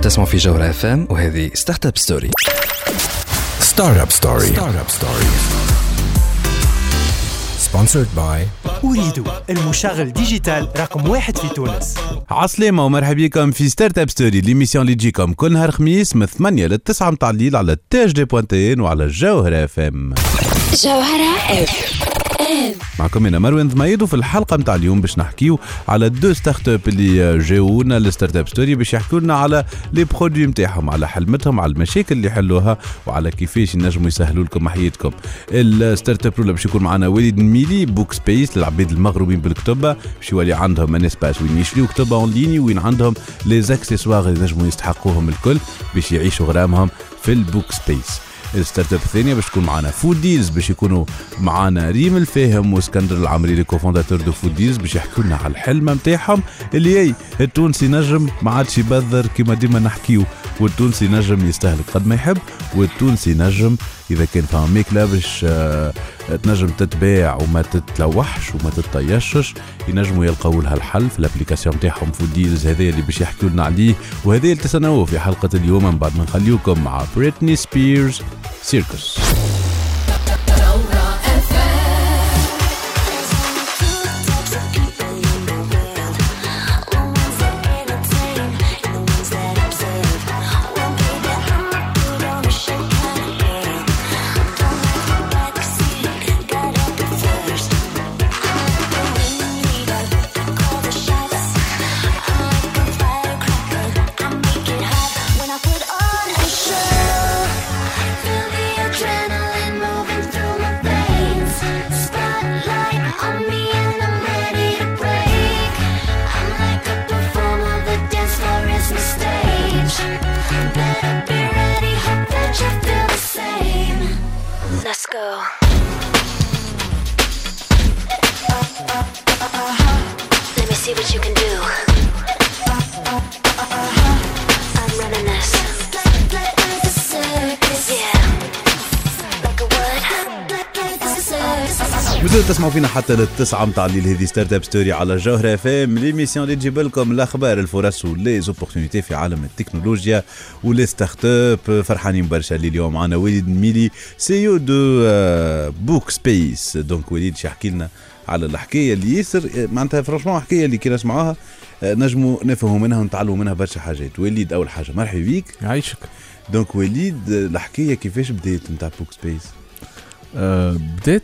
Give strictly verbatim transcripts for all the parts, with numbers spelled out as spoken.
تسمعوا في جوهرة اف ام وهذه ستارت اب ستوري. ستارت اب ستوري ستارت اب ستوري sponsored by أريد المشغل ديجيتال رقم واحد في تونس. عسلامة ومرحبا بكم في ستارت اب ستوري، ليميسيون اللي تجيكم كل نهار خميس من ثمانية للتسعة متاع الليل على تاج دي بوانتين وعلى جوهرة اف ام. جوهرة اف ام معكم انا مروان ضميد، وفي الحلقه نتاع اليوم باش نحكيو على دو ستارت اب اللي جاونا للستارت اب ستوري باش يحكوا لنا على لي برودوي نتاعهم، على حلمتهم، على المشاكل اللي يحلوها، وعلى كيفاش ينجموا يسهلوا لكم حياتكم. الستارت اب الاولى باش يكون معنا وليد ميلي بوك سبيس للعباد المغروبين بالكتب، باش يولي عندهم ان اسباس وين يشريو كتب اون ليني، وين عندهم لي زاكسيسوار اللي ينجموا يستحقوهم الكل باش يعيشوا غرامهم في البوك سبيس. الستارت اب الثانيه باش تكون معنا فود ديلز، باش يكونوا معنا ريم الفاهم واسكندر العمري لي كوفونداتور دو فود ديلز، باش يحكوا لنا على الحلم نتاعهم اللي هي التونسي نجم ما عادش يبذر كما ديما نحكيو، والتونسي نجم يستهلك قد ما يحب، والتونسي نجم اذا كان فما ماكله باش آه تنجم تتباع وما تتلوحش وما تتطيشش، ينجموا يلقوا لها الحل في الابليكاسيون نتاعهم فود ديلز. هذا اللي باش يحكوا لنا عليه، وهذا اللي تسناوه في حلقه اليوم. من بعد ما نخليوكم مع بريتني سبيرز سيركس. بدأت تسمعوا فينا حتى للتسعة متاع الليل. هذه ستارت اب ستوري على جوهرة اف ام، ليميسيون اللي تجيب لكم الاخبار، الفرص ولي زوبورتونيتي في عالم التكنولوجيا ولي ستارت اب. فرحانين برشا اللي اليوم معنا وليد ميلي سيو دو بوك سبيس. دونك وليد يحكي لنا على الحكايه اللي ياسر معناتها فرانشمون حكايه اللي كي نسمعوها نجموا نفهموا منها ونتعلموا منها برشا حاجات. وليد اول حاجه مرحبا بيك. يعيشك. دونك وليد الحكايه كيفاش بدات نتاع بوك سبيس؟ أه بدات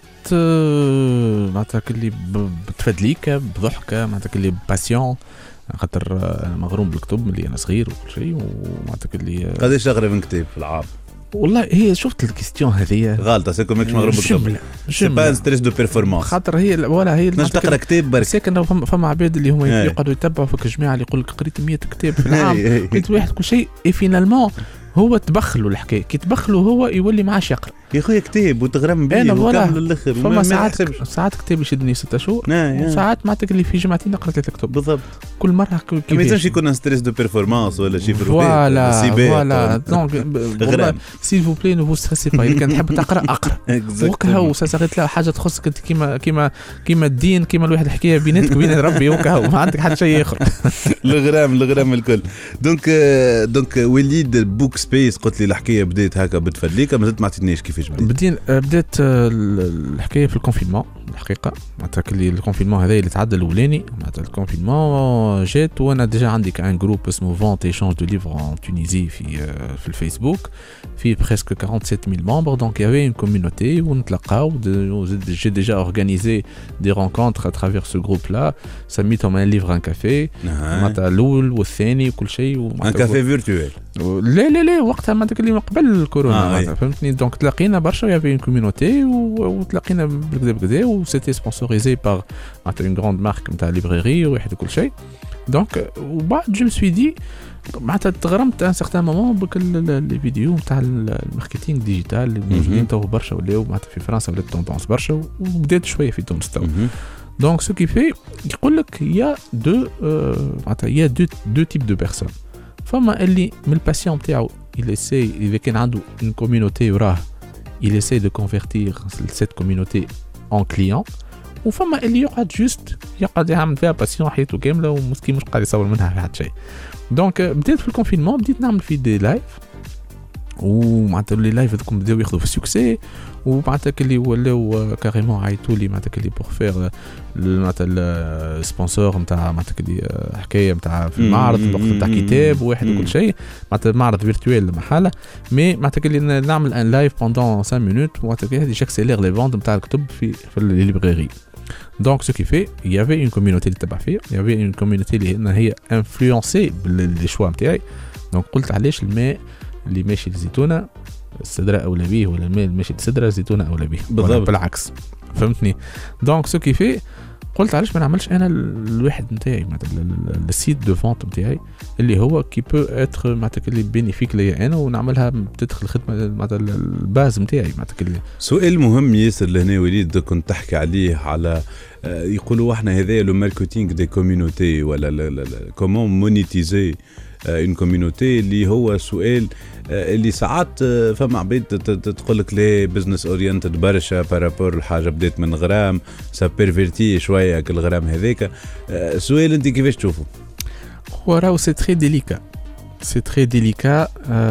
أه معناتها كلي بتفدليك بضحكه، معناتها كلي باسيون، خاطر انا مغروم بالكتب ملي انا صغير وكل شيء، ومعناتها كلي قداش تقرا من كتاب في العام؟ والله هي شفت الكيستيون هذه غلطه، سيكو ماكش مغروم بالكتب، سي با ستريس دو بيرفورمانس، خاطر هي ولا هي نجم تقرا كتاب برك. ساكن فما فما عباد اللي هما يقعدوا يتبعوا فيك الجماعه اللي يقول لك قريت مية كتاب في العام، قلت واحد كل شيء اي فينالمون هو تبخلوا الحكايه، كي تبخلوا هو يولي معاش يقرا. يا خويا كتاب وتغرم بيه وكمل الاخر. فما ساعات ساعات كتاب يشدني ستة شهور، وساعات معناتها اللي في جمعتين نقرا ثلاثة كتب بالضبط. كل مره ما يلزمش يكون ستريس دو بيرفورمانس ولا شي فوالا فوالا. دونك والله سيل فو بلي نو فو ستريسي با، كان تحب تقرا اقرا وكها وساعات لا حاجه تخصك انت كيما كيما كيما الدين، كيما الواحد حكايه بيناتك وبين ربي وكها، ما عندك حتى شيء اخر. الغرام الغرام الكل. دونك دونك وليد بوك سبيس قلت لي الحكايه بدات هكا بتفدليك، ما زلت ما عطيتنيش كيفاش بدات. بدين بدات الحكايه في الكونفينمون الحقيقه، معناتها كلي الكونفينمون هذا اللي تعدى الاولاني، معناتها الكونفينمون جات وانا ديجا عندي كان جروب اسمه فونت ايشانج دو ليفر ان تونيزي في في الفيسبوك، في بريسك سبعة وأربعين ألف ممبر. دونك يافي اون كوميونيتي ونتلاقاو، جي ديجا اورغانيزي دي رونكونتر ا ترافير سو جروب لا، سميتهم ان ليفر ان كافي، معناتها الاول والثاني وكل شيء، ان كافي فيرتوال. لا لا لا وقتها معناتها كلي قبل الكورونا، آه فهمتني. دونك تلاقينا برشا، يافي اون كوميونيتي وتلاقينا بكذا بكذا، وسيتي سبونسوريزي بار معناتها اون غراند مارك نتاع ليبراري وواحد وكل شيء. دونك وبعد جو مسوي دي معناتها تغرمت ان سيغتان مومون بك لي فيديو نتاع الماركتينغ ديجيتال اللي موجودين تو برشا ولاو معناتها في فرنسا ولات توندونس برشا، وبدات شويه في تونس تو. دونك سو كي في يقول لك يا دو معناتها يا دو دو تيب دو بيرسون. فما اللي من الباسيون تاعو il essaie اذا كان عنده une communauté وراه il essaie de convertir cette communauté en client، وفما اللي يقعد جوست يقعد يعمل فيها باسيون حياته كامله ومسكين مش قاعد يصور منها في حتى شيء. دونك بديت في الكونفينمون بديت نعمل في دي لايف ومعناتها لي لايف هذوكم بداو ياخذوا في السكسي ومعناتها اللي ولاو كاريمون عيطوا لي معناتها اللي بور فير معناتها السبونسور نتاع معناتها اللي حكايه نتاع في المعرض الوقت نتاع كتاب واحد وكل شيء معناتها معرض فيرتوال محاله مي معناتها اللي نعمل ان لايف بوندون خمسة مينوت معناتها هذه جاكسيلير لي فونت نتاع الكتب في في لي ليبراري. Donc ce qui fait, il y avait une communauté اللي تبع فيها, il y avait une communauté اللي هي influencée باللي شوا نتاعي. Donc قلت علاش الماء اللي ماشي للزيتونه السدره اولى به ولا الماء اللي ماشي للسدره الزيتونه اولى به بالعكس فهمتني. دونك سو كي في قلت علاش ما نعملش انا الواحد نتاعي مثلا السيت دو فونت نتاعي اللي هو كي بو اتر معناتها اللي بينيفيك ليا انا ونعملها تدخل الخدمه معناتها الباز نتاعي معناتها. سؤال مهم ياسر لهنا وليد كنت تحكي عليه على يقولوا احنا هذا لو ماركتينغ دي كوميونيتي ولا كومون مونيتيزي اون كوميونيتي اللي هو سؤال اللي ساعات فما عبيد تقول لك لي بزنس اورينتد برشا بارابور الحاجه بدات من غرام سا بيرفيرتي شويه كل غرام هذاك. سؤال انت كيفاش تشوفه؟ هو راهو سي تري ديليكا سي تري ديليكا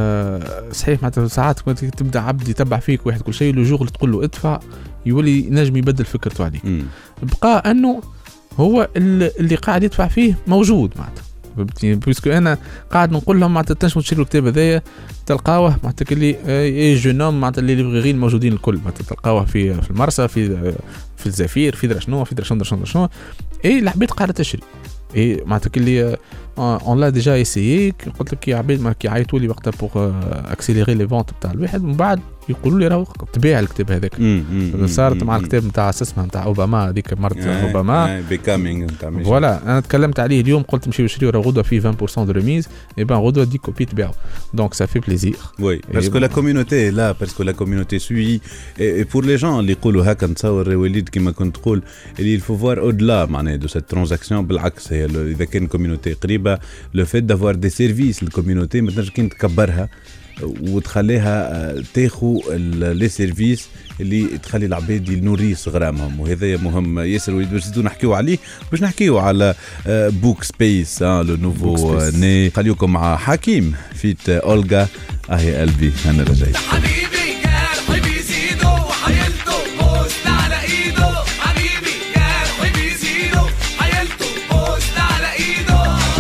صحيح معناتها ساعات تبدا عبد يتبع فيك واحد كل شيء لو جور اللي تقول له ادفع يولي نجم يبدل فكرته عليك. بقى انه هو اللي قاعد يدفع فيه موجود معناتها بيسكو انا قاعد نقول لهم معناتها تنجموا تشريوا الكتاب هذايا تلقاوه معناتها اللي اي جونوم معناتها اللي ليبراريين الموجودين الكل معناتها تلقاوه في في المرسى في في الزفير في درا شنو في درا شنو درا شنو اي العباد قاعده تشري اي معناتها اللي اون لا ديجا ايسيي قلت لك يا عباد ما كي عيطوا لي وقتها بوغ اكسيليري لي فونت تاع الواحد ومن بعد يقولوا لي راهو تبيع الكتاب هذاك. صارت مع الكتاب نتاع اسمها نتاع اوباما هذيك مرت اوباما بيكامينغ نتاع فوالا انا تكلمت عليه اليوم قلت نمشيو نشريو راه غدوه فيه عشرة بالمية دو ريميز اي بان غدوه دي كوبي تبيعوا دونك سا في بليزير وي باسكو لا كوميونيتي لا باسكو لا كوميونيتي سوي اي بور لي جون اللي يقولوا هكا نتصور وليد كيما كنت تقول اللي الفوفوار اودلا معناها دو سيت ترانزاكسيون بالعكس هي اذا كان كوميونيتي قريبه لو فيت دافوار دي سيرفيس الكوميونيتي ما تنجم كي تكبرها وتخليها تاخو لي سيرفيس اللي تخلي العباد ينوريس غرامهم وهذا مهم ياسر. وليد باش نزيدو نحكيو عليه باش نحكيو على بوك سبيس لو نوفو ني. خليكم مع حكيم فيت أولغا اهي قلبي انا رجعي حبيبي يا حبيبي زيدو وحيلته بوست على ايده حبيبي يا حبيبي زيدو حيلته بوست على ايده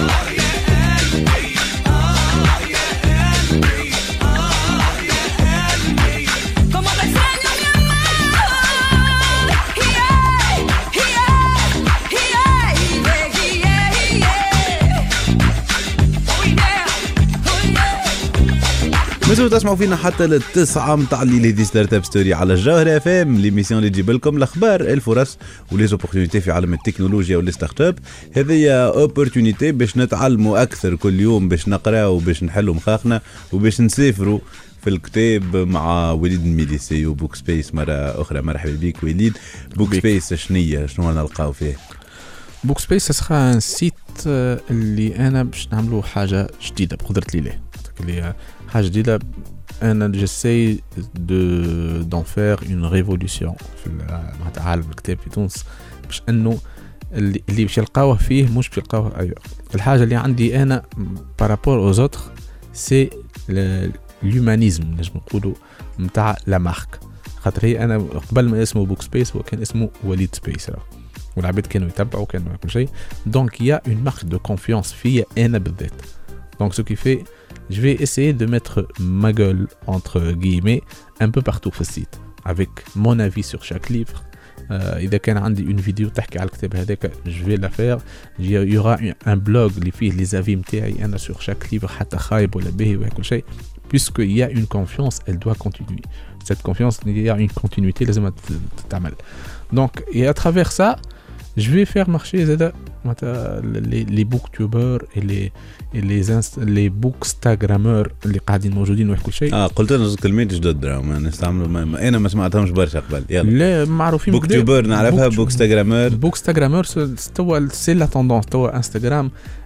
مازالوا تسمعوا فينا حتى للتسعة متاع الليل هذه ستارت اب ستوري على الجوهرة اف ام ليميسيون اللي تجيب لكم الاخبار الفرص ولي زوبورتونيتي في عالم التكنولوجيا واللي ستارت اب. هذه اوبورتونيتي باش نتعلموا اكثر كل يوم باش نقراو وباش نحلوا مخاخنا وباش نسافروا في الكتاب مع وليد الميديسي وبوك سبيس مرة أخرى. مرحبا بك وليد. بوك سبيس شنية شنو نلقاو فيه؟ بوك سبيس سخا ان سيت اللي أنا باش نعملوا حاجة جديدة بقدرة لله اللي حاجة جديدة. أنا جسي دو دون فير اون ريفولوسيون في عالم الكتاب في تونس باش أنه اللي باش يلقاوه فيه مش باش يلقاوه أيوة. الحاجة اللي عندي أنا بارابور أوز أوتر سي الهيومانيزم نجم نقولوا متاع لا مارك. خاطر هي انا قبل ما اسمه بوك سبيس هو كان اسمه وليد سبيس والعباد كانوا يتبعوا كانوا كل شيء. دونك يا اون مارك دو كونفيونس فيا انا بالذات. دونك سو كي في je vais essayer de mettre ma gueule entre guillemets un peu partout في السيت avec mon avis sur chaque livre. إذا كان عندي une vidéo تحكي على الكتاب هذاك je vais la faire. il y aura un blog اللي فيه les avis متاعي أنا sur chaque livre حتى خايب ولا باهي ولا كل شيء. Puisque il y a une confiance, elle doit continuer. Cette confiance, il y a une continuité, لازم تتعمل. Donc, et à travers ça, je vais faire marcher les, les booktubers et les et les inst- les bookstagrammeurs اللي قاعدين موجودين وكل شيء. اه قلت لنا كلمات جدد راهم نستعملوا ما ما انا ما سمعتهمش برشا قبل. يلا لا معروفين بوكتوبر نعرفها. بوكستاغرامر بوكستاغرامر توا سي لا توندونس توا انستغرام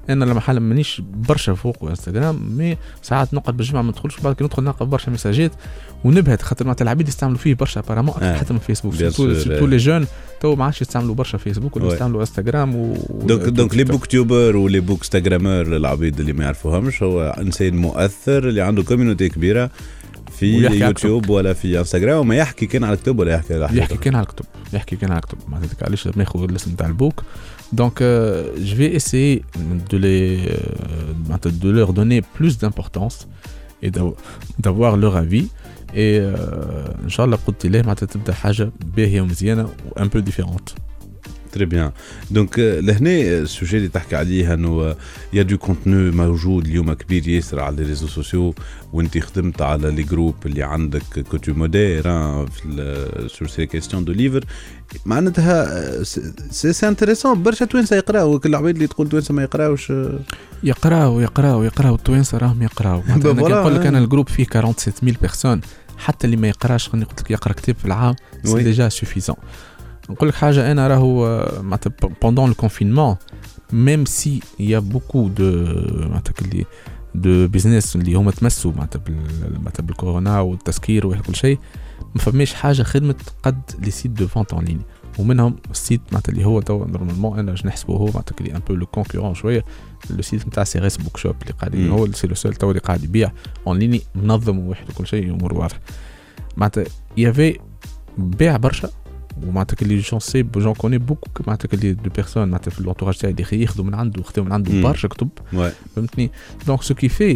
انا لما حالا مانيش برشا فوق انستغرام مي ساعات نقعد بالجمعه ما ندخلش بعد كي ندخل نلقى برشا مساجات ونبهت خاطر معناتها العباد يستعملوا فيه برشا ابارامون اكثر حتى من فيسبوك سورتو لي جون تو ما عادش يستعملوا برشا فيسبوك ولا يستعملوا انستغرام و دونك دونك لي بوك تيوبر ولي بوك انستغرامر العبيد اللي ما يعرفوهمش هو انسان مؤثر اللي عنده كوميونيتي كبيره في يوتيوب ولا في انستغرام وما يحكي كان على الكتب ولا يحكي على يحكي كان على الكتب يحكي كان على الكتب ما تتكاليش ناخذ الاسم تاع البوك دونك جو في اسيي دو لي دو لور دوني بلوس دامبورطونس اي دافوار لور افي اي ان شاء الله قلت له معناتها تبدا حاجه باهيه ومزيانه وان بو ديفيرونت. تري بيان دونك لهنا السوجي اللي تحكي عليه انه يا دو كونتوني موجود اليوم كبير ياسر على لي ريزو سوسيو وانت خدمت على لي جروب اللي عندك كوتو مودير في سور سي كيستيون دو ليفر معناتها سي سي انتريسون برشا توانسه يقراو كل العباد اللي تقول توانسه ما يقراوش يقراو يقراو يقراو التوانسه راهم يقراو انا نقول لك انا الجروب فيه سبعة وأربعين ألف بيرسون حتى اللي ما يقراش خليني قلت لك يقرا كتاب في العام سي ديجا سوفيزون. نقول لك حاجه انا راهو معناتها pendant le confinement même si il y a beaucoup de معناتها اللي دو بيزنس اللي هما تمسوا معناتها معناتها بالكورونا والتسكير وكل شيء ما فماش حاجه خدمت قد لي سيت دو فونت اون لين ومنهم السيت معناتها اللي هو تو نورمالمون انا باش نحسبه هو معناتها اللي ان بو لو كونكورون شويه لو سيت نتاع سيريس بوك شوب اللي قاعد هو سي لو سول تو اللي قاعد يبيع اون لين منظم وواحد وكل شيء امور واضحه معناتها يافي بيع برشا ومعناتها اللي جون سي جون كوني بوكو معناتها اللي دو بيرسون معناتها في لونتوراج تاعي اللي ياخذوا من عنده ياخذوا من عنده برشا كتب فهمتني دونك سو كي في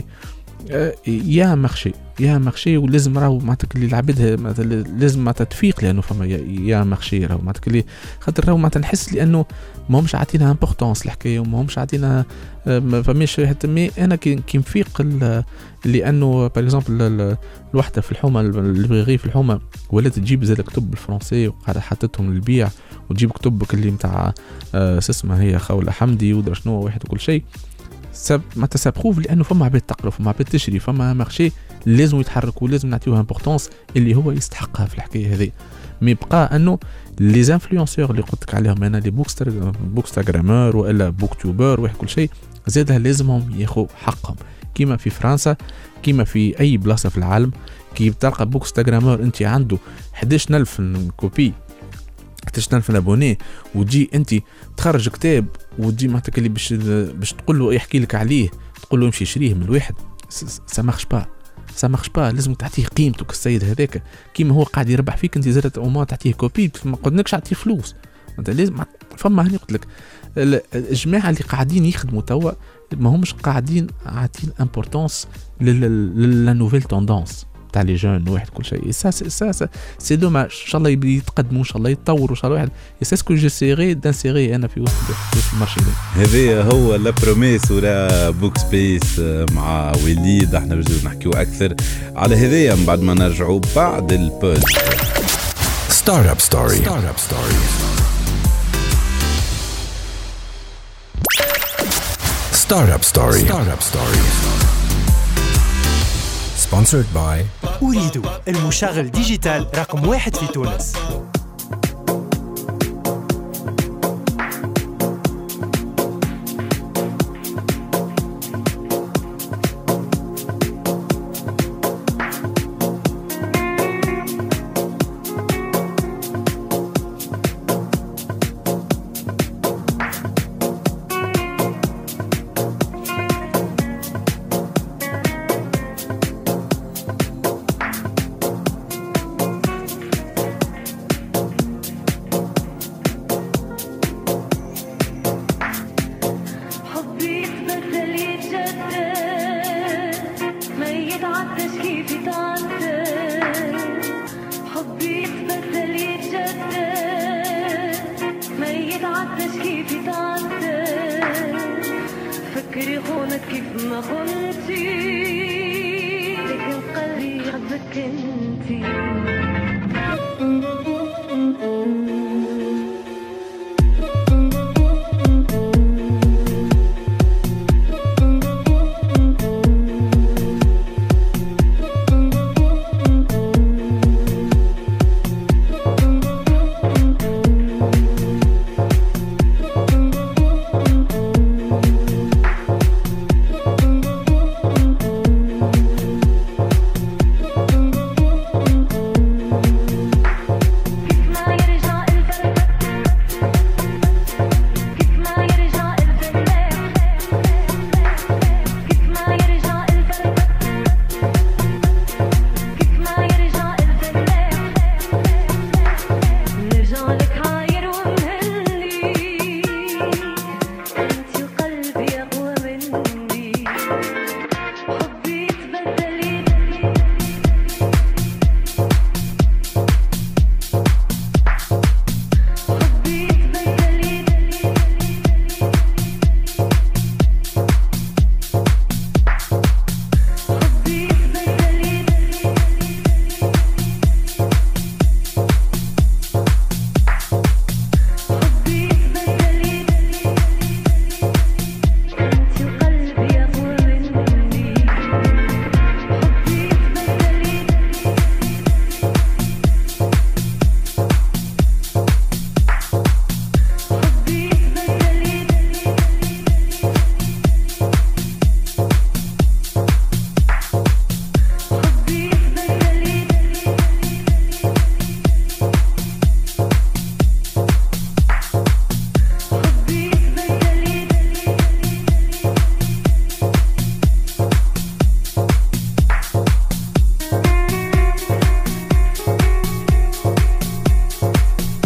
يا مارشي يا مارشي ولازم راهو معناتها اللي العباد معناتها لازم معناتها تفيق لانه فما يا مارشي راهو معناتها اللي خاطر راهو معناتها نحس لانه ما همش عاطينها امبورطونس الحكايه وما همش عاطينها ما فماش حتى مي انا كي كي نفيق لانه باغ اكزومبل الوحده في الحومه البريغي في الحومه ولات تجيب زاد كتب بالفرنسي وقاعده حطتهم للبيع وتجيب كتبك اللي نتاع اسمها هي خوله حمدي ودرا شنو واحد وكل شيء سب ما تسابروف لانه فما عباد تقرا فما عباد تشري فما مارشي لازم يتحركوا ولازم نعطيوها امبورطونس اللي هو يستحقها في الحكايه هذه مي بقى انه لي زانفلونسور اللي قلت لك عليهم انا لي بوكستر بوكستاغرامر ولا بوكتوبر واحد كل شيء زادها لازمهم ياخذوا حقهم كيما في فرنسا كيما في اي بلاصه في العالم كي تلقى بوكستاغرامر انت عنده إحدى عشر ألف كوبي إحدى عشر ألف ابوني وتجي انت تخرج كتاب وتجي معناتها اللي باش باش تقول له يحكي لك عليه تقول له امشي شريه من الواحد سا مارش با سا مارش با لازم تعطيه قيمته كالسيد هذاك كيما هو قاعد يربح فيك انت زادت او ما تعطيه كوبي ما قلناكش تعطيه فلوس انت لازم فما هني قلت لك الجماعه اللي قاعدين يخدموا توا ما همش قاعدين عاطين امبورطونس لا نوفيل توندونس تاع لي جون واحد كل شيء سا سا سا سي دوماج ان شاء الله يتقدموا ان شاء الله يتطوروا ان شاء الله واحد سي سكو جو سيري دانسيري انا في وسط المارشي هذا هو لا بروميس ولا بوك سبيس مع وليد احنا بجوز نحكيو اكثر على هذايا من بعد ما نرجعوا بعد البول ستارت اب ستوري ستارت اب ستوري ستارت اب ستوري ستارت اب ستوري sponsored by أريد المشغل ديجيتال رقم واحد في تونس.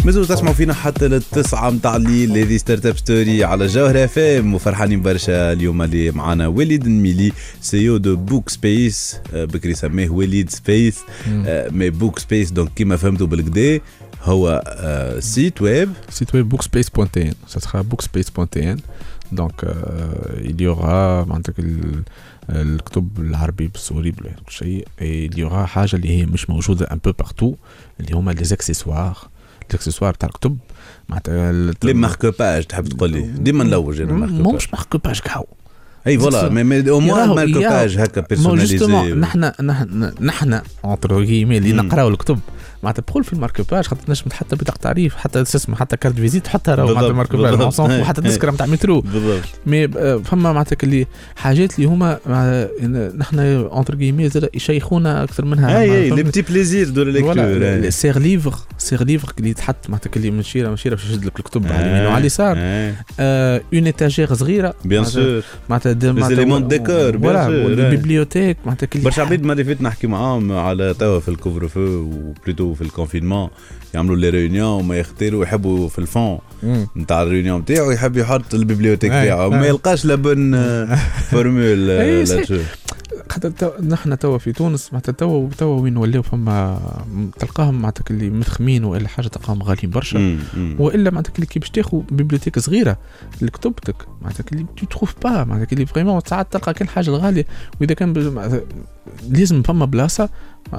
مازالوا تسمعوا فينا حتى للتسعة متاع الليل. هذه ستارت اب ستوري على جوهر اف ام، وفرحانين برشا اليوم اللي معنا وليد الميلي سيو دو بوك سبيس. بكري سميه وليد سبيس مي بوك سبيس. دونك كيما فهمتوا بالكدا هو سيت ويب سيت ويب بوكسبيس بوان تي ان. ça sera بوكسبيس بوان تي ان. donc euh, il y aura معناتها الكتب العربي بالسوري بكل شيء. il y aura حاجه اللي هي مش موجوده un peu partout اللي هما لي اكسسوار الاكسسوار تاع الكتب معناتها لي ماركوباج. تحب تقول لي ديما نلوج انا ماركوباج مش ماركوباج كاو اي فوالا مي مي او موان ماركوباج هكا بيرسوناليزي. نحن نحن نحن اونتر كيمي اللي نقراو الكتب معناتها تدخل في الماركوباج خاطر تنجم حتى بطاقه تعريف حتى اسم حتى كارت فيزيت تحطها راهو معناتها الماركوباج اونسون وحتى تذكره نتاع مترو. مي فما معناتها اللي حاجات اللي هما نحن اونتر كيمي زاد يشيخونا اكثر منها. اي لي بتي بليزير دو ليكتور سير ليفر سير ليفر اللي تحط معناتها اللي من شيره من شيره باش يشد لك الكتب على اليمين وعلى اليسار. اون ايتاجير صغيره بيان سور معناتها لي زيليمون ديكور بيان سور. البيبليوتيك معناتها كل برشا عباد ما فيت نحكي معاهم على توا في الكوفر فو وبلوتو في الكونفينمون يعملوا لي ريونيون وما يختاروا يحبوا في الفون نتاع الريونيون نتاعو يحب يحط البيبليوتيك تاعو ما يلقاش لابن فورمول لاتشو. حتى نحن توا في تونس معناتها توا توا وين ولاو فما تلقاهم معناتها اللي مفخمين والا حاجه تلقاهم غاليين برشا والا معناتها اللي كي باش تاخذ بيبليوتيك صغيره لكتبتك معناتها اللي تو تروف با معناتها اللي فريمون ساعات تلقى كل حاجه الغاليه واذا كان لازم فما بلاصه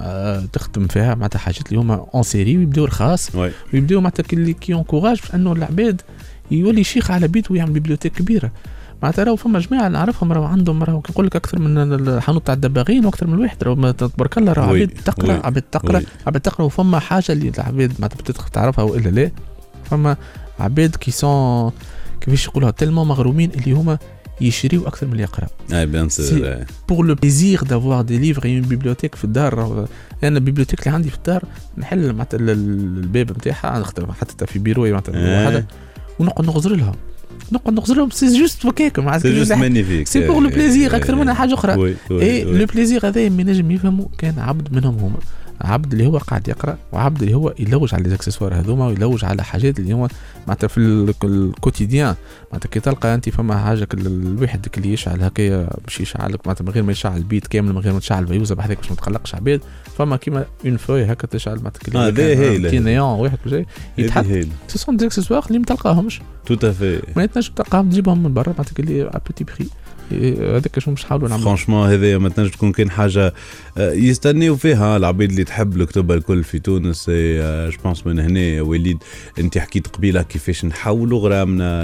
تخدم فيها معناتها حاجات اللي هما اون سيري ويبداو رخاص ويبداو معناتها اللي كي انكوراج انه العباد يولي شيخ على بيته ويعمل بيبليوتيك كبيره. معناتها راهو فما جماعه نعرفهم راهو عندهم راهو نقول لك اكثر من الحانوت تاع الدباغين واكثر من واحد راهو تبارك الله راهو عباد تقرا عباد تقرا عباد تقرا. وفما حاجه اللي العباد معناتها بتدخل تعرفها والا لا. فما عباد كي سون كيفاش يقولها تلمون مغرومين اللي هما يشريوا اكثر من اللي يقراوا. اي بيان سور بور لو بليزير دافوار دي ليفر اون بيبليوتيك في الدار. انا البيبليوتيك اللي عندي في الدار نحل معناتها الباب نتاعها نخدم حتى في بيروي معناتها وحده ونقعد نغزر لها نقعد نغزر لهم. سي جوست هكاك معناتها سي جوست مانيفيك سي بور لو بليزير اكثر من حاجه اخرى. اي لو بليزير هذا من نجم يفهموا كان عبد منهم هما عبد اللي هو قاعد يقرا وعبد اللي هو يلوج على الاكسسوار هذوما ويلوج على حاجات اللي هو معناتها في الكوتيديان. معناتها كي تلقى انت فما حاجه الواحد اللي يشعل هكايا باش يشعلك معناتها من غير ما يشعل البيت كامل من غير ما تشعل فيوزه بحذاك باش ما تقلقش عباد. فما كيما اون فوي هكا تشعل معناتها هذا هي نيون واحد بجاي يتحط سي سون دي اكسسوار اللي ما تلقاهمش تو تافي ما تنجم تلقاهم تجيبهم من برا معناتها اللي ا بوتي بري. هذاك شنو باش نحاولوا نعملوا فرانشمون. هذا ما تنجم تكون كاين حاجه يستنيوا فيها العبيد اللي تحب الكتب الكل في تونس. جو بونس من هنا وليد انت حكيت قبيله كيفاش نحولوا غرامنا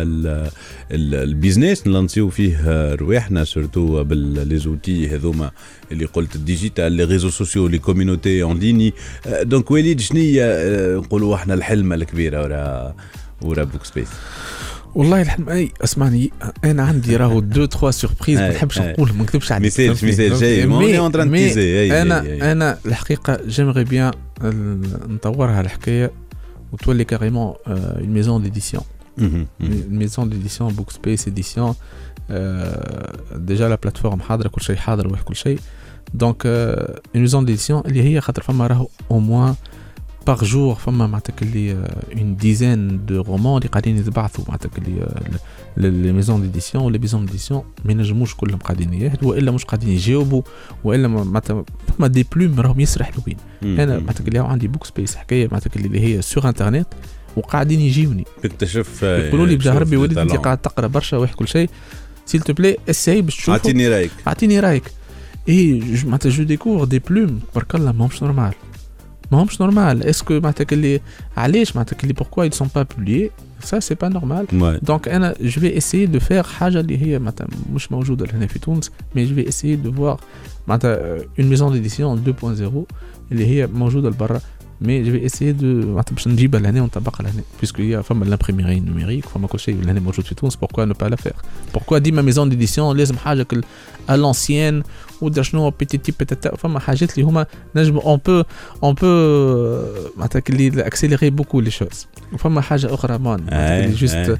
البيزنس نلانسيو فيه رواحنا سورتو باللي زوتي هذوما اللي قلت الديجيتال لي ريزو سوسيو لي كوميونيتي اون ليني. دونك وليد شنيا نقولوا احنا الحلمه الكبيره ورا ورا بوك سبيس؟ والله الحلم اي اسمعني انا عندي راهو دو تخوا سوربريز ما نحبش نقول ما نكذبش عليك ميساج ميساج جاي موني اون تران تيزي. انا انا الحقيقه جيمري بيان نطورها الحكايه وتولي كاريمون اون ميزون ديديسيون ميزون ديديسيون بوك سبيس اديسيون. ديجا لا بلاتفورم حاضره كل شيء حاضر وكل شيء. دونك اون ميزون ديديسيون اللي هي خاطر فما راهو او موان باغ جور فما معناتها اللي اون ديزين دو رومان اللي قاعدين يتبعثوا معناتها اللي لي ميزون ديديسيون ولا ميزون ديديسيون ما ينجموش كلهم قاعدين يهدوا والا مش قاعدين يجاوبوا والا معناتها فما دي بلوم راهم يسرح حلوين. انا معناتها اللي عندي بوك سبيس حكايه معناتها اللي هي سور انترنت وقاعدين يجيوني تكتشف يقولوا لي بجاه ربي وليد انت قاعد تقرا برشا واحد كل شيء سيل تو بلاي اساي باش تشوف اعطيني رايك اعطيني رايك. اي معناتها جو ديكور دي بلوم تبارك الله ماهمش نورمال ماهمش نورمال. اسكو معناتها اللي علاش معناتها اللي بوركوا ils sont pas publiés ça c'est pas normal. donc انا je vais essayer de faire حاجه اللي هي معناتها مش موجوده هنا في تونس mais je vais essayer de voir معناتها une maison d'édition deux point zéro اللي هي موجوده لبرا mais je vais essayer de معناتها باش نجيبها لهنا ونطبقها لهنا puisque هي فما l'imprimerie numérique فما كل شيء لهنا موجود في تونس. pourquoi ne pas la faire pourquoi ديما maison d'édition لازم حاجه à l'ancienne ودر شنو بيتيتي بيتاتا. فما حاجات اللي هما نجم اون بو اون بو معناتها اللي اكسيليري بوكو لي شوز. وفما حاجه اخرى مان اللي جوست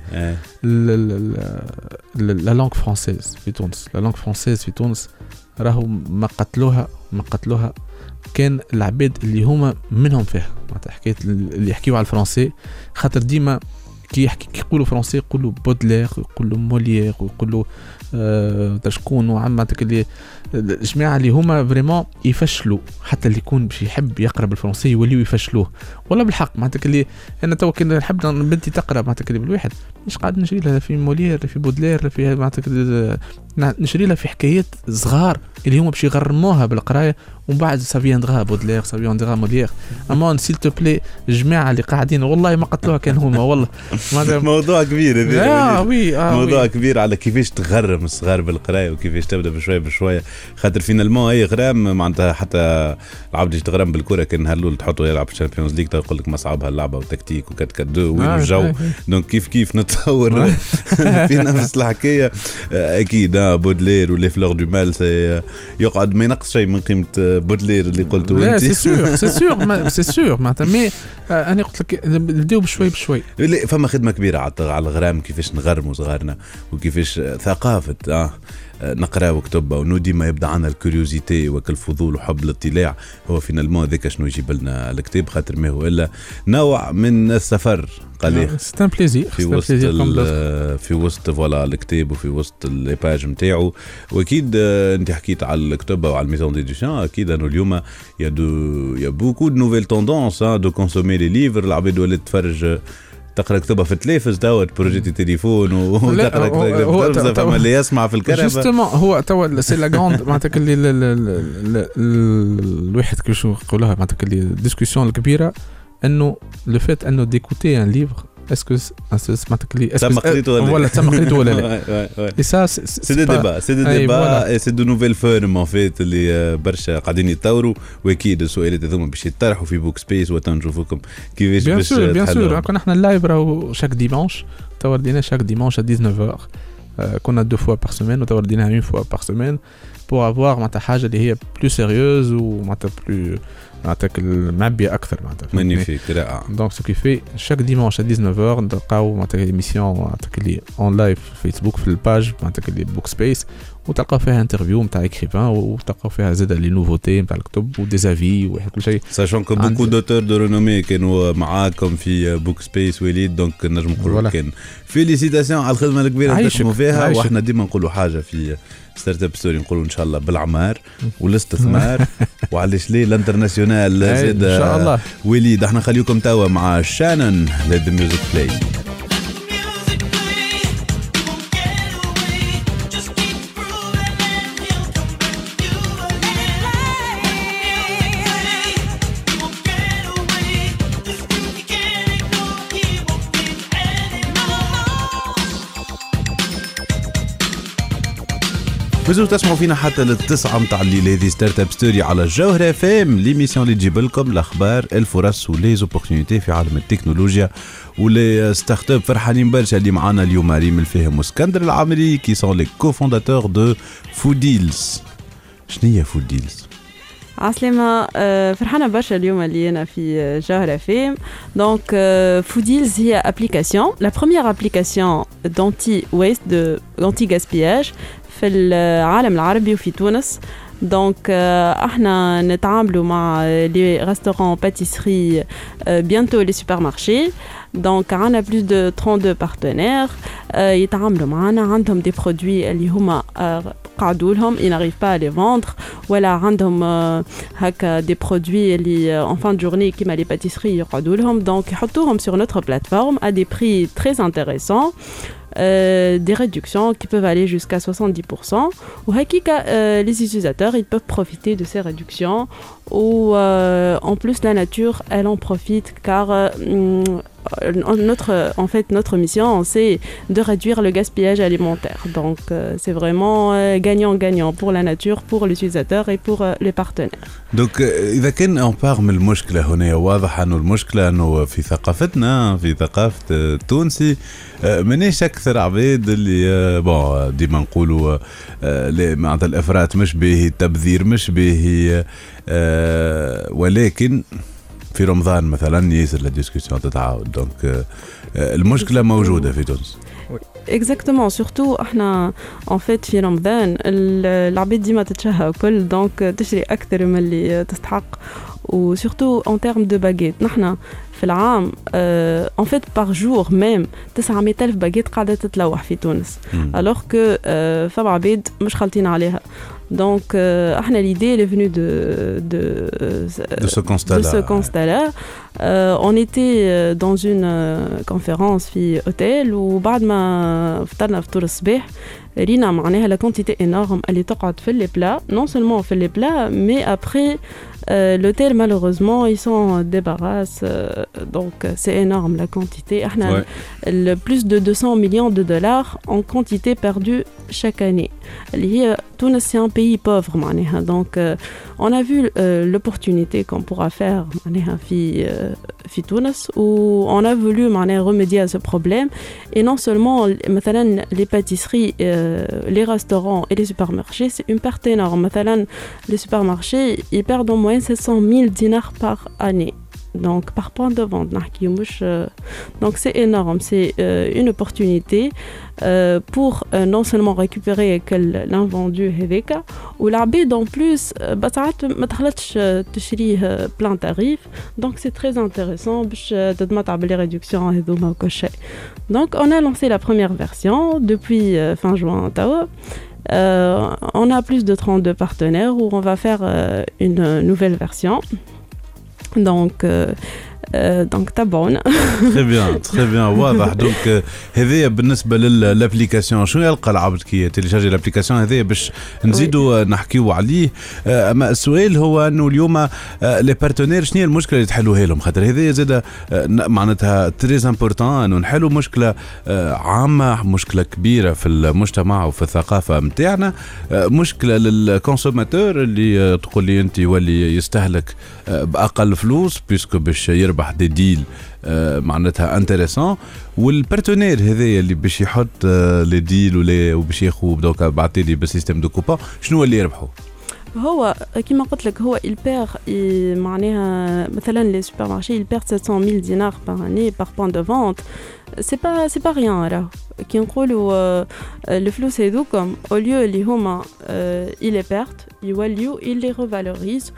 لا لانغ فرونسيز في تونس. لا لانغ فرونسيز في تونس راهو ما قتلوها ما قتلوها كان العباد اللي هما منهم فيها معناتها حكايه اللي يحكيوا على الفرنسي خاطر ديما كي يحكي كي يقولوا فرنسي يقولوا بودلير يقولوا موليير ويقولوا أه شكون وعمتك اللي الجماعه اللي هما فريمون يفشلوا حتى اللي يكون باش يحب يقرا بالفرنسي يوليو يفشلوه والله بالحق معناتك اللي انا تو كي نحب بنتي تقرا معناتك اللي بالواحد مش قاعد نشري لها في موليير في بودلير في معناتك نشري لها في حكايات صغار اللي هما باش يغرموها بالقرايه ومن بعد سافياندغا بودلير سافياندغا موليير امان سيل تو بلاي الجماعه اللي قاعدين والله ما قتلوها كان هما والله موضوع كبير هذا آه وي آه موضوع وي. كبير على كيفاش تغرم الصغار بالقرايه وكيفاش تبدا بشويه بشويه خاطر فينالمون اي غرام معناتها حتى العبد اللي تغرم بالكره كان هلول تحطه يلعب الشامبيونز ليغ تقول لك ما صعبها اللعبه وتكتيك وكات كات دو وين آه الجو آه دونك كيف كيف نتصور في نفس الحكايه اكيد بودلير ولي فلور دو مال يقعد ما ينقص شيء من قيمه بودلير اللي قلته انت سي سور سي سور سي سور معناتها مي انا قلت لك نبداو بشوي بشوي فما خدمه كبيره على الغرام كيفاش نغرموا صغارنا وكيفاش ثقافه اه نقرا وكتب ونو ديما يبدا عنا الكوريوزيتي وكالفضول وحب الاطلاع هو فينالمون ذاك شنو يجيب لنا الكتاب خاطر ما هو الا نوع من السفر قال سي ان بليزير في وسط في وسط فوالا الكتاب وفي وسط الباج نتاعو واكيد انت حكيت على الكتب وعلى الميزون ديديشن اكيد انه اليوم يا دو يا بوكو دو نوفيل توندونس دو كونسومي لي ليفر العباد ولات تفرج تقرا كتبها في التلفاز توا بروجيتي تليفون وتقرا كتبها فما اللي يسمع في الكرفه جوستومون هو توا سي لا غراند معناتها اللي الواحد كيفاش نقولوها معناتها اللي الديسكوسيون الكبيره انه لو فيت انه ديكوتي ان ليفر اسكو معناتها اللي تم قريته ولا تم قريته ولا لا اي سا سي دي ديبا سي دي ديبا اي سي دو نوفيل فورم ان فيت اللي برشا قاعدين يتطوروا واكيد السؤالات هذوما باش يطرحوا في بوك سبيس وتنشوفوكم كيفاش باش تحلوا بيان سور كنا احنا اللايف راهو شاك ديمانش توردينا شاك ديمانش à dix-neuf heures كنا دو فوا بار سيمين وتوردينا اون فوا بار سيمين pour avoir معناتها حاجه اللي هي plus sérieuse ومعناتها plus معناتها المعبيه اكثر معناتها مانيفيك رائع دونك سو كي في شاك ديمانش à dix-neuf heures نلقاو معناتها ايميسيون معناتها اللي اون لايف في فيسبوك في الباج معناتها اللي بوك سبيس وتلقاو فيها انترفيو نتاع اكريفان وتلقاو فيها زاد لي نوفوتي نتاع الكتب وديزافي وكل شيء ساشون كو بوكو دوتور دو رينومي كانوا معاكم في بوك سبيس وليد دونك نجم نقولوا كان فيليسيتاسيون على الخدمه الكبيره اللي تقوموا فيها واحنا ديما نقولوا حاجه في ستارت اب ستوري نقولوا ان شاء الله بالعمار والاستثمار وعلاش ليه الانترناسيونال زاد ان شاء الله وليد احنا خليكم توا مع شانن ليد ميوزك بلاي مازلتوا تسمعوا فينا حتى للتسعة متاع الليل هذه ستارت اب ستوري على الجوهرة اف ام ليميسيون اللي تجيب لكم الاخبار الفرص ولي زوبورتونيتي في عالم التكنولوجيا ولي ستارت اب فرحانين برشا اللي معانا اليوم ريم الفهم واسكندر العامري كي سون لي كوفونداتور دو فوديلز. شنو هي فوديلز؟ عسلامة فرحانة برشا اليوم اللي أنا في جوهرة فيم. دونك فوديلز هي ابليكاسيون لا بروميير ابليكاسيون دانتي ويست دو دانتي غاسبياج في العالم العربي وفي تونس. دونك احنا نتعاملوا مع لي ريستورون باتيسري بيانتو لي سوبر مارشي. دونك عندنا بلوس دو trente-deux بارتنير يتعاملوا معنا عندهم دي برودوي اللي هما قعدوا لهم ils n'arrivent pas à les vendre ولا عندهم هكا دي برودوي اللي en fin de journée كيما لي باتيسري يقعدوا لهم. دونك يحطوهم sur notre plateforme à des prix très intéressants. Euh, des réductions qui peuvent aller jusqu'à soixante-dix pour cent. Ou hakika, euh, les utilisateurs ils peuvent profiter de ces réductions. Ou euh, en plus la nature elle en profite car euh, notre en fait notre mission c'est de réduire le gaspillage alimentaire. Donc euh, c'est vraiment euh, gagnant-gagnant pour la nature, pour l'utilisateur et pour euh, les partenaires. Donc إذا كان on parle من المشكلة هنا واضح إنه المشكلة إنه في ثقافتنا في ثقافة التونسي منيش أكثر عباد اللي بون ديما نقولوا معناتها الإفراط مش باهي التبذير مش باهي ولكن في رمضان مثلا ياسر لا ديسكسيون تتعاود دونك المشكله موجوده في تونس. Exactement, surtout احنا en fait في رمضان العباد ديما تتشهى كل دونك تشري اكثر من اللي تستحق و surtout en termes de baguettes نحنا في العام en fait par jour même تسعمية ألف باجيت قاعده تتلوح في تونس alors que فما عباد مش خالطين عليها. Donc, euh, l'idée est venue de, de, de ce constat-là. De ce constat-là. Euh, on était dans une conférence في hôtel où بعد ما فطرنا فطور الصباح رينا معناها la quantité énorme اللي تقعد في les plats, non seulement في les plats, mais après euh, l'hôtel malheureusement ils s'en débarrassent. Euh, donc c'est énorme la quantité. احنا ouais. plus de deux cents millions de dollars en quantité perdue chaque année. اللي هي Tunis c'est un pays pauvre معناها. Donc euh, on a vu euh, l'opportunité qu'on pourra faire معناها في euh, في Tunis où on a voulu معناها remédier à ce problème et non seulement مثلا les pâtisseries euh, les restaurants et les supermarchés c'est une perte énorme. مثلا les supermarchés ils perdent en moyenne sept cent mille dinars par année. Donc par point de vente نحكي مش donc c'est énorme, c'est euh, une opportunité euh, pour euh, non seulement récupérer l'invendu هذاك والعباد en plus بساعات ما تخلطش تشريه plein tarif donc c'est très intéressant باش تتمتع باللي ريدكسيون هذوما وكل شيء. Donc on a lancé la première version depuis euh, fin juin توا. Euh, on a plus de trente-deux partenaires où on va faire euh, une nouvelle version. Donc, euh, euh, donc تابعونا. Très bien, très bien, واضح. Donc هذه بالنسبة للابليكاسيون شنو يلقى العبد كي تيليشارجي الابليكاسيون هذه باش نزيدوا نحكيوا عليه. أما السؤال هو إنه اليوم لي بارتنير شنو هي المشكلة اللي تحلوها لهم خاطر هذه زادة معناتها تريز امبورطون إنه نحلوا مشكلة عامة مشكلة كبيرة في المجتمع وفي الثقافة متاعنا مشكلة للكونسوماتور اللي تقول لي أنت يولي يستهلك بأقل فلوس بيسكو باش يربح دي ديل معناتها انتريسون والبارتنير هذايا اللي باش يحط لي ديل ولا وباش ياخذ دوك بعثي لي بسيستم دو كوبون شنو اللي يربحوا هو كما قلت لك هو البير معناها مثلا لي سوبر مارشي البير sept cent mille dinars par année par point de vente c'est pas c'est pas rien راه كي نقولوا الفلوس هذوكم au lieu اللي هما il les perdent يوليو il les revalorise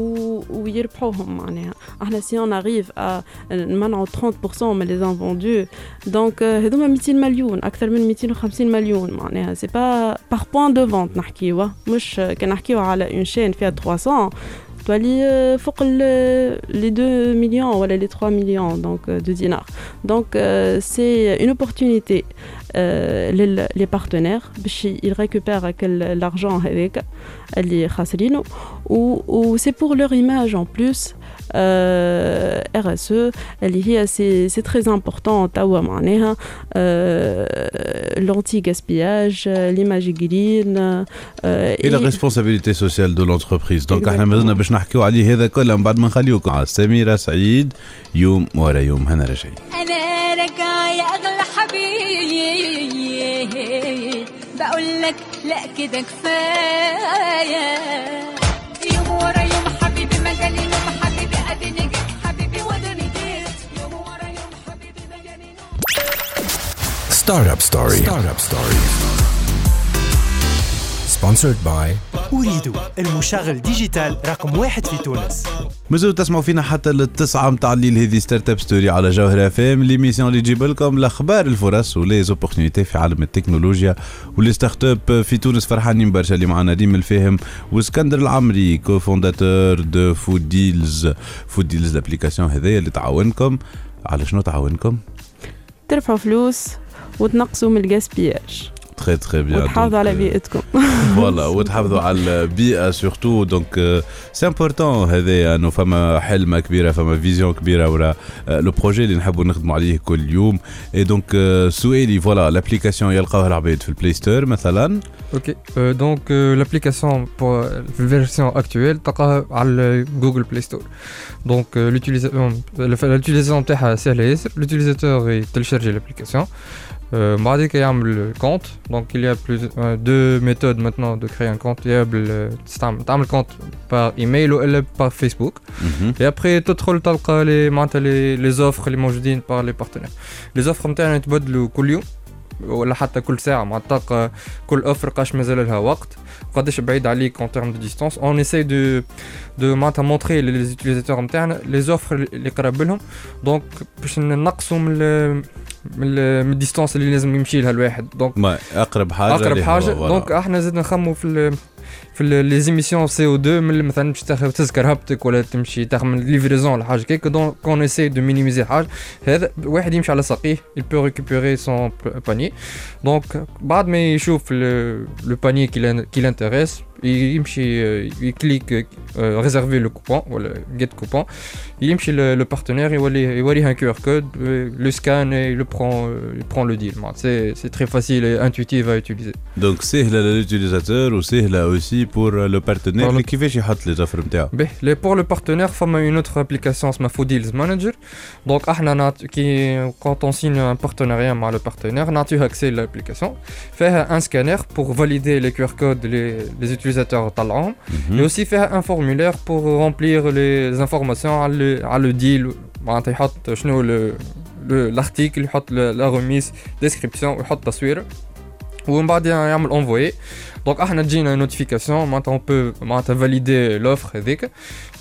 ويربحوهم معناها احنا si on arrive à نمنعوا trente pour cent من les invendus donc هذوما مئتين مليون اكثر من مئتين وخمسين مليون معناها c'est pas par point de vente نحكيوا مش كنحكيوا على une chaîne فيها trois cents تولي فوق les deux millions ou les trois millions donc de dinars. Donc euh, c'est une opportunité euh, les, les partenaires باش ils récupèrent l'argent avec اللي خاسرينه ou, ou c'est pour leur image en plus. Euh, R S E اللي هي c'est c'est très important توا معناها l'anti-gaspillage l'image green euh, et la responsabilité sociale de l'entreprise. Donc احنا مازلنا باش نحكيو عليه هذا كله من بعد ما نخليوكم على سميرة سعيد يوم ورا يوم. هنا رجعي انا رجع يا اغلى حبيب بقول لك لا كده كفايه يوم ورا يوم حبيبي ما جالي يوم حبيبي اديني جيت حبيبي وداني جيت يوم ورا يوم حبيبي ما جالي Startup Story. Startup Story. Sponsored by أريد المشغل ديجيتال رقم واحد في تونس. مازالوا تسمعوا فينا حتى للتسعة متاع الليل. هذه ستارت اب ستوري على جوهرة اف ام ليميسيون اللي تجيب لكم الاخبار الفرص ولي زوبورتونيتي في عالم التكنولوجيا ولي ستارت اب في تونس. فرحانين برشا اللي معنا نديم الفاهم واسكندر العمري كوفونداتور دو فود ديلز. فود ديلز الابليكاسيون هذيا اللي تعاونكم على شنو تعاونكم؟ ترفعوا فلوس وتنقصوا من الغاسبياج. Très très bien. وتحافظوا على بيئتكم. Voilà, وتحافظوا على البيئة surtout. Donc euh, c'est important هذا إنه فما حلمة كبيرة فما فيزيون كبيرة ورا لو بروجي اللي نحبوا نخدموا عليه كل يوم. Et donc euh, سؤالي voilà l'application يلقاوها العباد في البلاي ستور مثلا. Ok, euh, donc euh, l'application pour la version actuelle تلقاها على Google Play Store. Donc euh, l'utilisation l'utilisation تاعها سهلة ياسر. L'utilisateur يتلشارجي l'application. Euh, بعدك يعمل compte. Donc il y a plus euh, deux méthodes maintenant de créer un compte. Il y a le تعمل compte par email ou par Facebook. Mhm. Et après تدخل تلقى les معناتها les les offres اللي موجودين par les partenaires. Les offres نتاعنا يتبدلوا كل يوم ولا حتى كل ساعة معناتها تلقى كل اوفر قاش مازال لها وقت قداش بعيد عليك en termes de distance. On essaie de de معناتها montrer les utilisateurs نتاعنا les offres اللي قراب لهم. Donc باش ننقصوا من من الديستانس اللي لازم يمشي لها الواحد. دونك ما اقرب حاجه اقرب حاجه. دونك احنا زدنا نخمو في في لي زيميسيون سي او اثنين من مثلا باش تاخذ تذكر هبطك ولا تمشي تاخذ ليفريزون ولا حاجه كيك. دونك كون اسي دو مينيميزي حاجه هذا واحد يمشي على ساقيه il peut récupérer son panier. دونك بعد ما يشوف لو باني كي لانتريس يمشي يكليك réserver le coupon ولا get coupon يمشي le partenaire يولي يوريه un Q R code le scan et il prend il prend le deal. c'est c'est très facile et intuitif à utiliser. Donc سهله للutilisateur وسهله aussi pour le partenaire اللي كيفاش يحط لي زفر نتاعو. باهي pour le partenaire فما une autre application اسمها Fooddeals Manager. donc احنا نعط كي quand on signe un partenariat مع le partenaire نعطيه accès à l'application فيها un scanner pour valider les Q R codes les les utilisateurs طلعوهم et aussi faire un formulaire pour remplir les informations على على le deal معناتها يحط شنو le l'article يحط la remise description ويحط تصوير ومن بعد يعمل envoyer. donc احنا تجينا notification معناتها on peut معناتها valider l'offre هذيك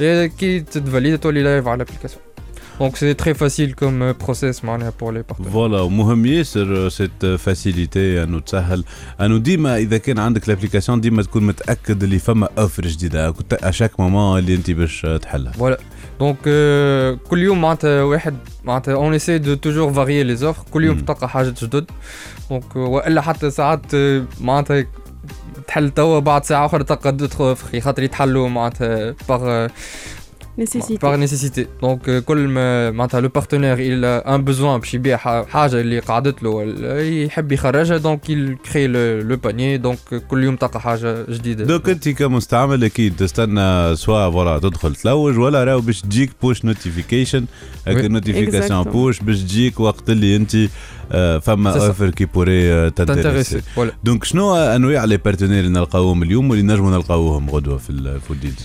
كي تتفاليد تولي لايف على l'application. Donc c'est très facile comme process pour les partenaires. Voilà, مهم ياسر cette facilité انه تسهل انه ديما اذا كان عندك l'application ديما تكون متاكد اللي فما اوفر جديده اشاك مومون اللي انت باش تحلها. Voilà. Donc euh, كل يوم معناتها واحد معناتها on essaie de toujours varier les offres. كل يوم تلقى حاجه جدد. donc والا حتى ساعات معناتها تحل توا بعد ساعه اخرى تلقى تدخل خاطر يتحلوا معناتها par nécessité. par nécessité. donc كل ما معناتها لو بارتنير il a un besoin باش يبيع حاجه اللي قعدت له يحب يخرجها دونك il crée le, le panier. donc كل يوم تلقى حاجه جديده. دونك انت كمستعمل اكيد تستنى سواء فوالا تدخل تلوج ولا راهو باش تجيك بوش نوتيفيكيشن هكا نوتيفيكاسيون بوش باش تجيك وقت اللي انت فما اوفر كي بوري تانتيريسي. دونك شنو انواع لي بارتنير اللي نلقاوهم اليوم واللي نجموا نلقاوهم غدوه في الفوديلز؟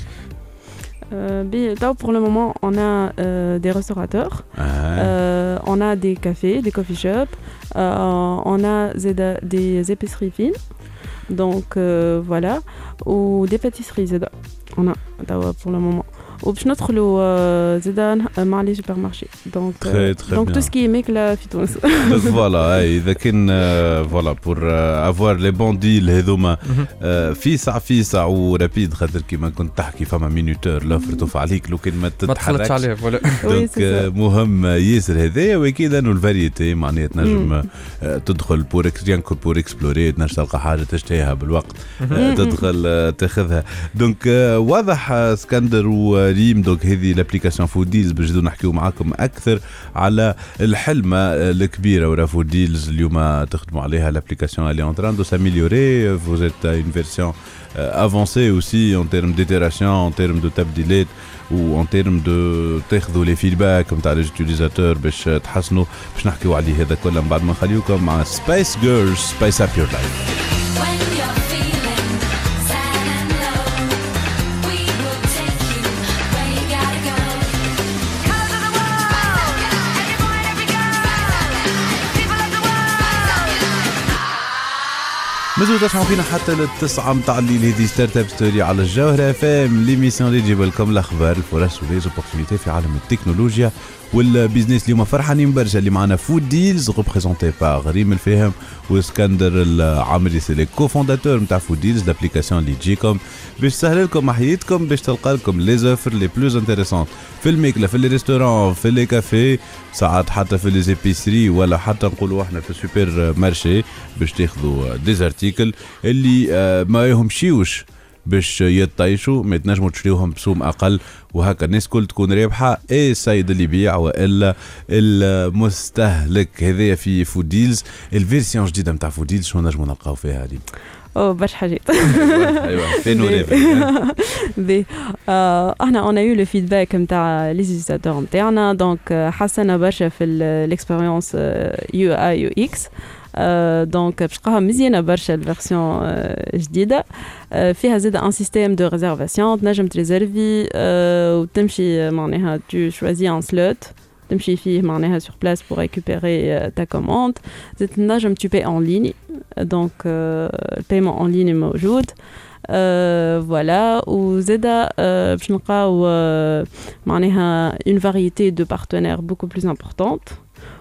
Euh, pour le moment, on a euh, des restaurateurs, ah. euh, on a des cafés, des coffee shops, euh, on a des épiceries fines, donc euh, voilà, ou des pâtisseries. On a pour le moment. وباش ندخلوا زيدا مع لي سوبر مارشي. دونك دونك تو سكي ميك لا في تونس. فوالا اذا كان فوالا بور افوار لي بون ديل هذوما فيسع فيسع ورابيد خاطر كيما كنت تحكي فما مينوتور لوفر توف عليك لو كان ما تتحركش عليه فوالا. دونك مهم ياسر هذايا واكيد انه الفاريتي معناها تنجم تدخل بور ريانكو بور اكسبلوري تنجم تلقى حاجه تشتهيها بالوقت تدخل تاخذها. دونك واضح اسكندر و ريم. دونك هذه لابليكاسيون فوديلز باش نحكيو معاكم اكثر على الحلمه الكبيره ورا فوديلز اليوم تخدموا عليها. لابليكاسيون اللي اون تران دو ساميليوري فوز ايت اون فيرسيون افونسي اوسي اون تيرم ديتيراسيون اون تيرم دو تبديلات و اون تيرم دو تاخذوا لي فيدباك نتاع لي يوتيليزاتور باش تحسنوا. باش نحكيو عليه هذا كله من بعد ما نخليوكم مع سبايس جيرلز سبايس اب يور لايف. مازلتوا تسمعوا فينا حتى للتسعة متاع الليل. هذه ستارت اب ستوري على الجوهرة اف ام ليميسيون اللي تجيب لكم الاخبار الفرص وليزوبورتينيتي في عالم التكنولوجيا والبيزنس. اليوم فرحانين برشا اللي معنا فود ديلز ريبريزونتي باغ ريم الفهم واسكندر العامري سي لي كوفونداتور نتاع فود ديلز لابليكاسيون اللي تجيكم باش تسهل لكم حياتكم باش تلقى لكم لي زوفر لي بلوز انتريسون في الماكله في لي ريستورون في لي كافي ساعات حتى في لي زيبيسري ولا حتى نقولوا احنا في السوبر مارشي باش تاخذوا ديزارتيكل اللي ما يهمشيوش باش يطيشوا ما تنجموا تشريوهم بسوم اقل وهكا الناس كل تكون رابحه اي السيد اللي يبيع والا المستهلك. هذايا في فوديلز الفيرسيون جديده نتاع فوديلز شنو نجموا نلقاو فيها هذه؟ او برشا حاجات. ايوا فين بي احنا اون ايو لو فيدباك نتاع لي زيزاتور نتاعنا دونك حسنا برشا في الاكسبيريونس يو اي يو اكس. دونك باش تلقاها مزيانه برشا الفيرسيون جديده فيها زاد ان سيستيم دو ريزيرفاسيون تنجم تريزيرفي وتمشي معناها تو شوازي ان سلوت تمشي فيه معناها sur place pour récupérer ta commande زاد تنجم tu payes en ligne donc le paiement en ligne موجود voilà وزاد باش نلقاو معناها une variété de partenaires beaucoup plus importante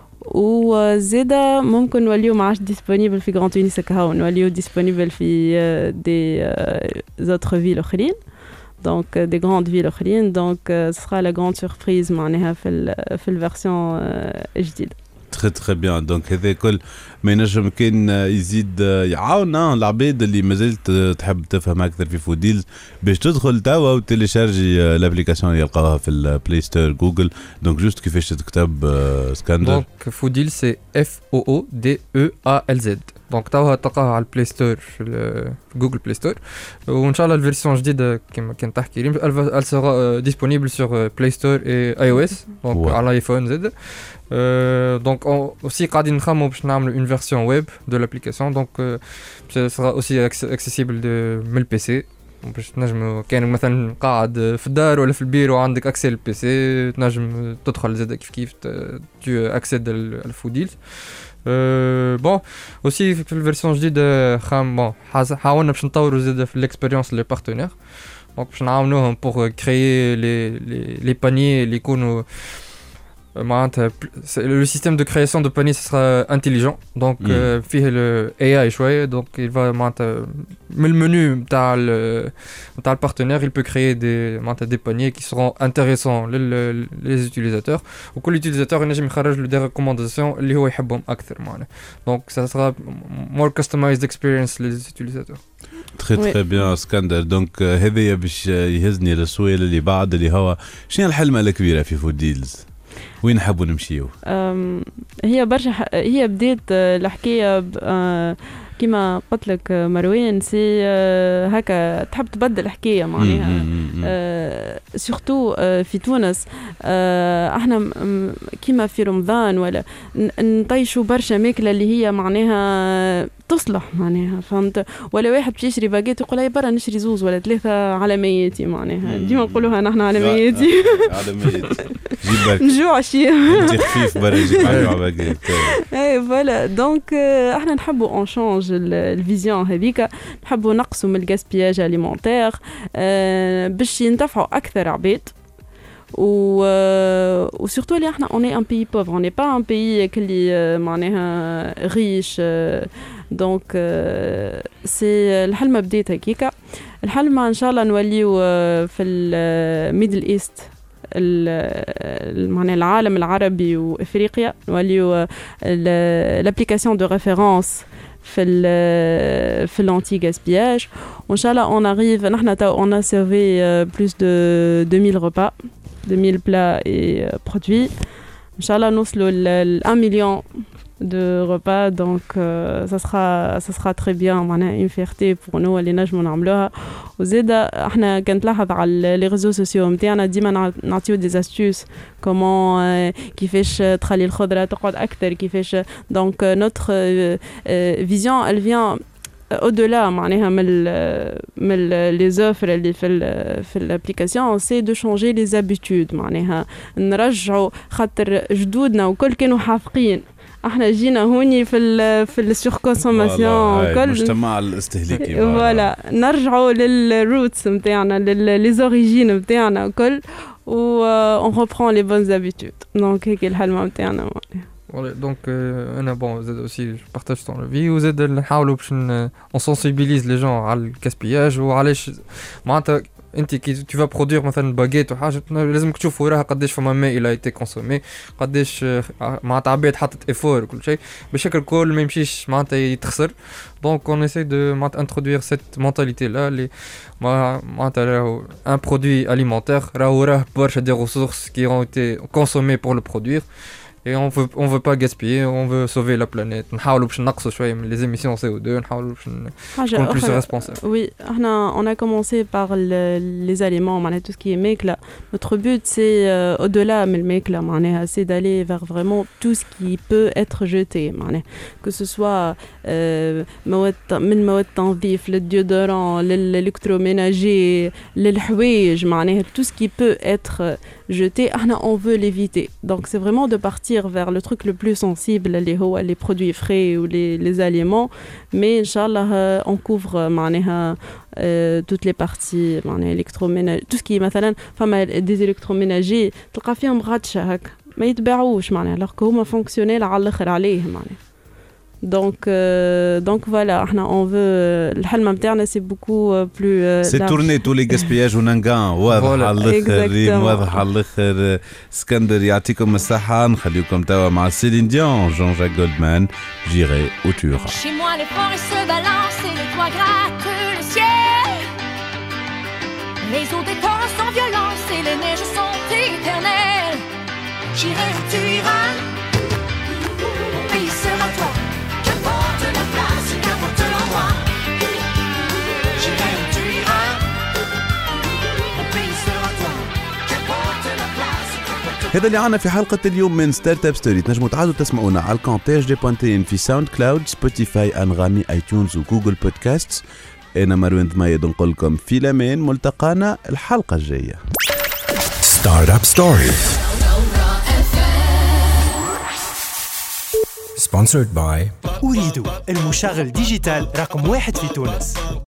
وزاد ممكن نوليو ما عادش ديسپونيبل في غران تونس هكا نوليو ديسپونيبل في دي زوتر فيل اخرين donc des grandes villes اخرين donc ce sera la grande surprise معناها في في الفيرسيون الجديده. تري تري بيان دونك هذا كل ما ينجم كان يزيد يعاون العباد اللي مازالت تحب تفهم اكثر في فوديلز باش تدخل توا وتيليشارجي لابليكاسيون اللي يلقاوها في البلاي ستور جوجل دونك جوست كيفاش تكتب اسكندر دونك فوديل سي اف او او دي او ا ال زد دونك توا تلقاها على البلاي ستور في جوجل بلاي ستور وان شاء الله الفيرسيون جديده كما كنت تحكي لي elle sera disponible sur Play Store et iOS donc على الايفون زد دونك aussi قاعدين نخمموا باش نعملوا une version web de l'application donc ça sera aussi accessible de من البي سي باش تنجم كان مثلا قاعد في الدار ولا في البيرو وعندك اكسي للبي سي تنجم تدخل زاد كيف كيف تو اكسيد الفوديل أه بون اوسي في الفيرسيون جديده خام بون حاولنا باش نطوروا زاد في الاكسبيريونس لي بارتنير دونك باش نعاونوهم بور كريي لي لي بانيي اللي يكونوا معناتها le système de création de panier ce sera intelligent donc mm. euh, فيه le A I شويه donc il va معناتها من المنيو نتاع نتاع البارتنير il peut créer des معناتها des paniers qui seront intéressants لل les utilisateurs وكل utilisateur ينجم يخرج له des recommandations اللي هو يحبهم اكثر معناها donc ça sera more customized experience les utilisateurs. تري تري بيان اسكندر دونك هذا باش يهزني للسؤال اللي بعد اللي هو شنو الحلمه الكبيره في فوديلز وين نحبوا نمشيو؟ هي برشا هي بديت الحكايه كما قلت لك مروان سي هكا تحب تبدل الحكايه معناها سورتو في تونس احنا كما في رمضان ولا نطيشوا برشا ماكله اللي هي معناها تصلح معناها فهمت ولا واحد باش يشري باجيت يقول لي برا نشري زوز ولا ثلاثه على ميتي معناها ديما نقولوها نحن على ميتي على ميتي جيب نجوع شي انت خفيف برا جيب على باجيت اي فوالا دونك احنا نحبوا اون شونج الفيزيون هذيك نحبوا نقصوا من الغاسبياج اليمونتير باش ينتفعوا اكثر عباد و و surtout اللي احنا on est un pays pauvre on n'est pas un pays اللي معناها riche donc سي الحلمه بديت هكيكا الحلمه ان شاء الله نوليو في الميدل ايست معناها العالم العربي وافريقيا نوليو l'application de référence في ال في l'anti gaspillage وان شاء الله on arrive نحن on a servi plus de deux mille repas deux mille plats et produits ان شاء الله نوصلوا ل un million de repas donc euh, ça sera ça sera très bien معناها une fierté pour nous اللي نجموا نعملوها وزاد احنا كنت لاحظ على لي ريزو سوسيو نتاعنا ديما نعطيو دي استوس كومون كيفاش تخلي الخضره تقعد اكثر كيفاش دونك نوتر فيزيون elle vient au-delà معناها من من لي زوفر اللي في في الابليكاسيون سي دو شونجي لي زابيتود معناها نرجعوا خاطر جدودنا وكل كانوا حافقين احنا جينا هوني في ال في السور كونسوماسيون كل المجتمع الاستهلاكي فوالا نرجعوا للروتس نتاعنا لي زوريجين نتاعنا كل و اون ريبرون لي بونز هابيتود دونك هيك الحلمه نتاعنا voilà donc euh, انا bon زاد aussi je partage ton avis وزاد نحاولوا باش on sensibilise les gens على الكاسبياج وعلاش معناتها انت كي tu vas produire مثلا باجيت وحاجه لازمك تشوف وراها قداش فما ماء الى ايتي كونسومي قداش معناتها عباد حطت افور وكل شيء بشكل كل ما يمشيش معناتها يتخسر دونك on essaie de معناتها introduire cette mentalité là اللي معناتها راهو un produit alimentaire راهو راه برشا دي ressources qui ont été consommées pour le produire et on veut on veut pas gaspiller, on veut sauver la planète. نحاولوا باش نقصوا شويه من les émissions C O deux, نحاولوا باش نكونوا plus responsables. Oui, on a commencé par le, les aliments, tout ce qui est mekla. Notre but c'est euh, au-delà de mekla, c'est d'aller vers vraiment tout ce qui peut être jeté, que ce soit euh, من مواد تنظيف للديودوران للإلكتروménager للحوايج, tout ce qui peut être jeté, on veut l'éviter. Donc c'est vraiment de partir vers le truc le plus sensible, les, les produits frais ou les, les aliments, mais Inch'Allah on couvre euh, toutes les parties électroménager, tout ce qui est مثلا فما des électroménagers تلقى فيهم غاتشة هكا ما يتباعوش معناها alors que هما فونكسيونيل على الاخر عليه معناها. Donc, euh, donc voilà, on veut. Le halma interne, c'est beaucoup plus. Euh, c'est tourner tous les gaspillages ou nangan. واضح على الآخر واضح على الآخر. اسكندر يعطيكم الصحة. نخليكم توا مع سيلين ديون, Jean-Jacques Goldman, J'irai où tu iras. Chez moi, les forêts se balancent et les toits grattent le ciel. Les eaux des torrents sont violentes et les neiges sont éternelles. J'irai où tu iras. Mon pays sera toi. هذا اللي عنا في حلقة اليوم من ستارت اب ستوري. تنجموا تعادوا تسمعونا على الكونتاج دي بوانتين في ساوند كلاود, سبوتيفاي, انغامي, اي تيونز وجوجل بودكاست. انا مروان ضمايد نقول لكم في الامان, ملتقانا الحلقة الجاية. ستارت اب ستوري sponsored by أريد المشغل ديجيتال رقم واحد في تونس.